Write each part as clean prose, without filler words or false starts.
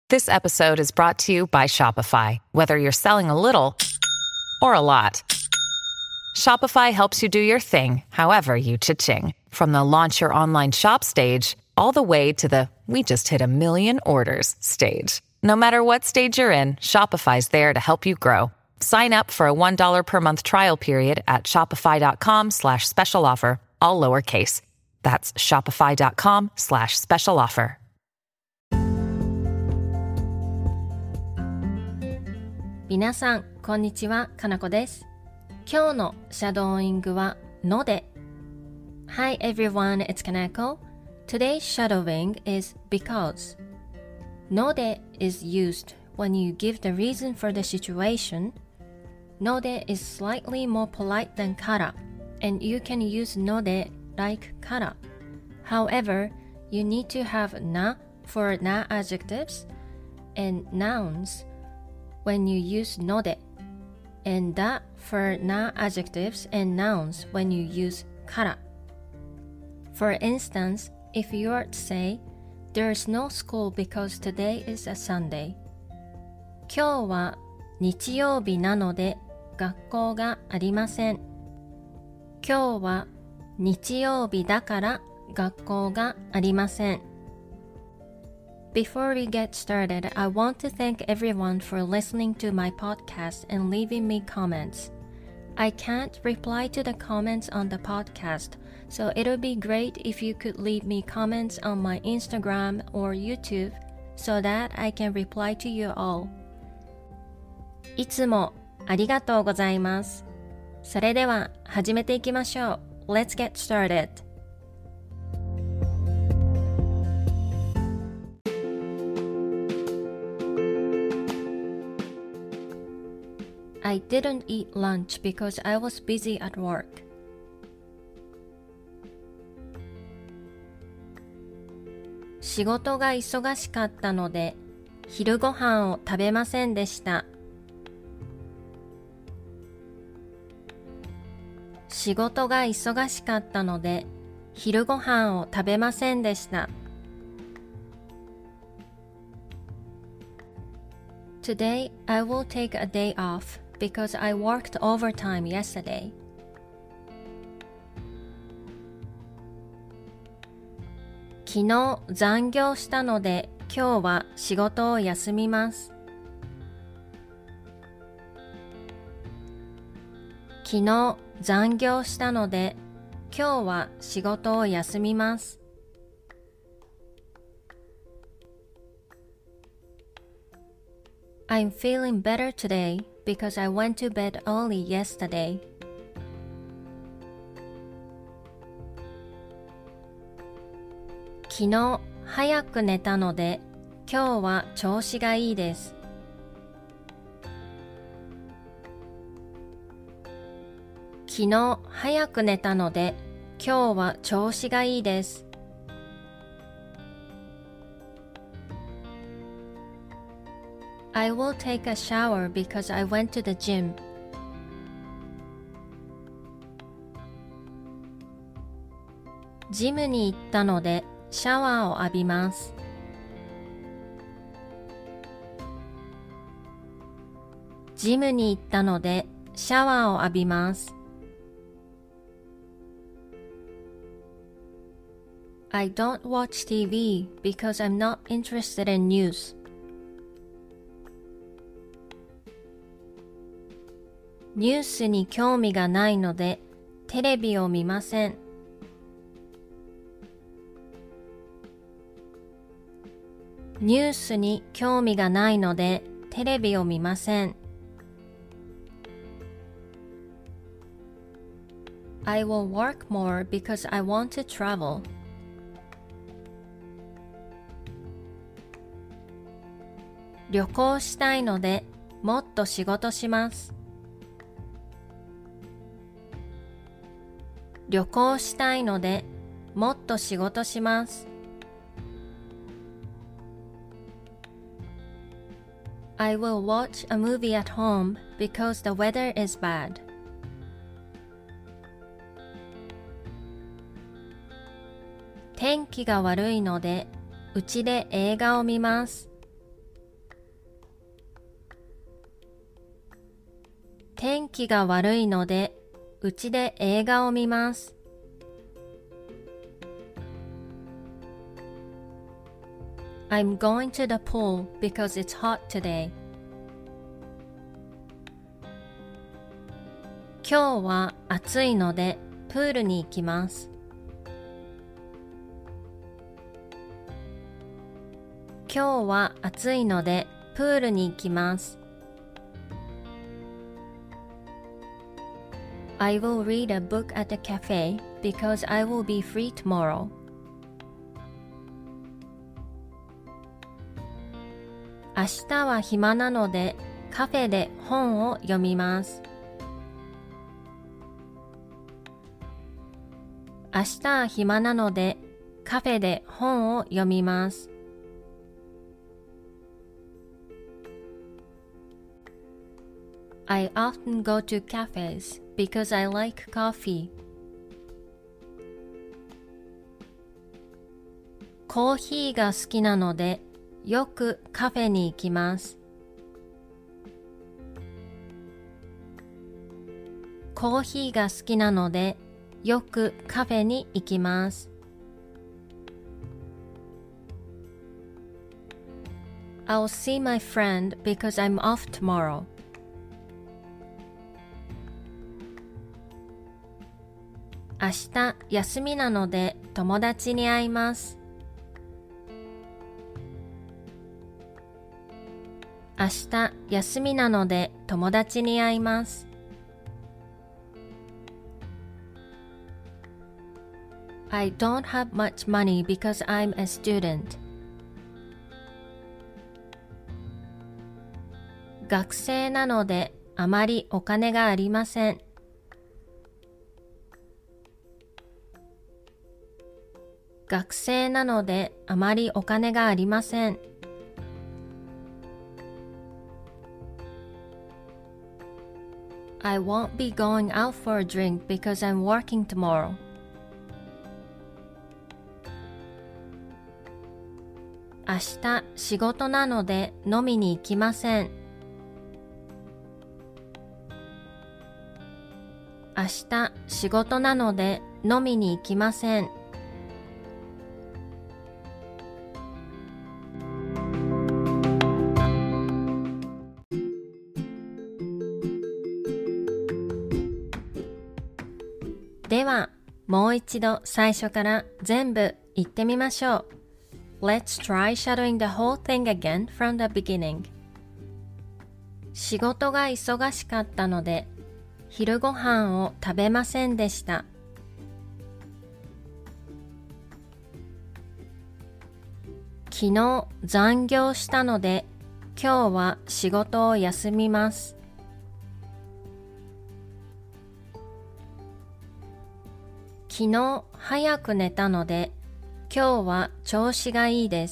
This episode is brought to you by Shopify. Whether you're selling a little or a lot, Shopify helps you do your thing, however you cha-ching. From the launch your online shop stage, all the way to the we just hit 1 million orders stage. No matter what stage you're in, Shopify's there to help you grow. Sign up for a $1 per month trial period at shopify.com/special offer, all lowercase. That's shopify.com/special offer. 皆さん、こんにちは、かなこです。今日のシャドーイングはので。Hi everyone, it's Kanako. Today's shadowing is because. ので is used when you give the reason for the situation. ので is slightly more polite than から and you can use ので like から。However, you need to have な for な adjectives and nouns when you use ので and だ for な adjectives and nouns when you use から。For instance, if you were to say, There is no school because today is a Sunday. 今日は日曜日なので学校がありません。今日は日曜日だから学校がありません。Before we get started, I want to thank everyone for listening to my podcast and leaving me comments. I can't reply to the comments on the podcast, so it'll be great if you could leave me comments on my Instagram or YouTube so that I can reply to you all. いつもありがとうございます。それでは始めていきましょう。Let's get started.I didn't eat lunch because I was busy at work. 仕事が忙しかったので昼ご飯を食べませんでした。仕事が忙しかったので昼ご飯を食べませんでした。Today, I will take a day off.Because I worked overtime yesterday. 昨日残業したので今日は仕事を休みます。昨日残業したので今日は仕事を休みます。I'm feeling better today.Because I went to bed early yesterday. 昨日早く寝たので今日は調子がいいです。昨日早く寝たので今日は調子がいいです。I will take a shower because I went to the gym. ジムに行ったのでシャワーを浴びます。ジムに行ったのでシャワーを浴びます。I don't watch TV because I'm not interested in news.ニュースに興味がないのでテレビを見ません。ニュースに興味がないのでテレビを見ません。I will work more because I want to travel. 旅行したいのでもっと仕事します。旅行したいのでもっと仕事します。I will watch a movie at home because the weather is bad. 天気が悪いのでうちで映画を見ます。 天気が悪いので、うちで映画を見ます。I'm going to the pool because it's hot today. 今日は暑いのでプールに行きます。今日は暑いのでプールに行きます。I will read a book at the cafe because I will be free tomorrow. 明日は暇なのでカフェで本を読みます。明日は暇なのでカフェで本を読みます。I often go to cafes because I like coffee. コーヒーが好きなのでよくカフェに行きます。コーヒーが好きなのでよくカフェに行きます。I'll see my friend because I'm off tomorrow. 明日休みなので友達に会います。明日休みなので友達に会います。I don't have much money because I'm a student. 学生なのであまりお金がありません。学生なのであまりお金がありません。I won't be going out for a drink because I'm working tomorrow. 明日仕事なので飲みに行きません。明日仕事なので飲みに行きません。では、もう一度最初から全部言ってみましょう。Let's try shadowing the whole thing again from the beginning. 仕事が忙しかったので、昼ご飯を食べませんでした。昨日残業したので、今日は仕事を休みます。昨日早く寝たので、今日は調子がいいです。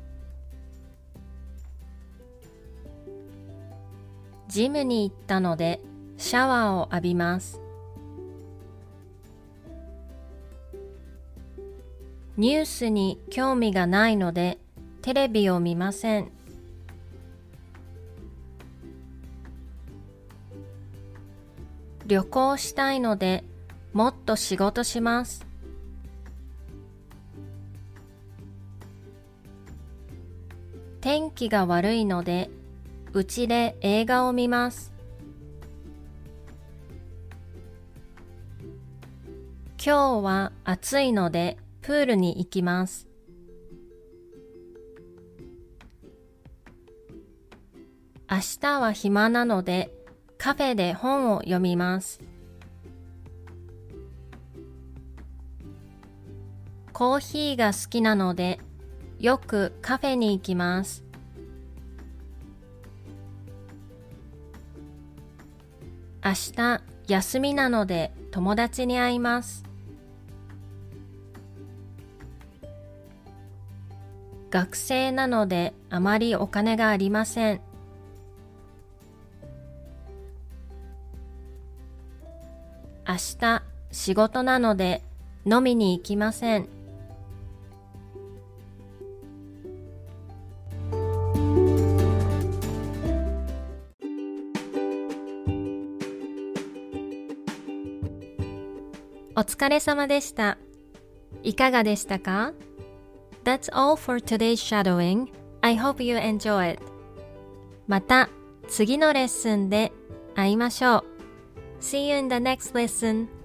ジムに行ったので、シャワーを浴びます。ニュースに興味がないので、テレビを見ません。旅行したいので、もっと仕事します。天気が悪いので、うちで映画を見ます。今日は暑いので、プールに行きます。明日は暇なので、カフェで本を読みます。コーヒーが好きなので、よくカフェに行きます。明日休みなので友達に会います。学生なのであまりお金がありません。明日仕事なので飲みに行きません。 お疲れ様でした。いかがでしたか？ That's all for today's shadowing. I hope you enjoy it. また次のレッスンで会いましょう。See you in the next lesson.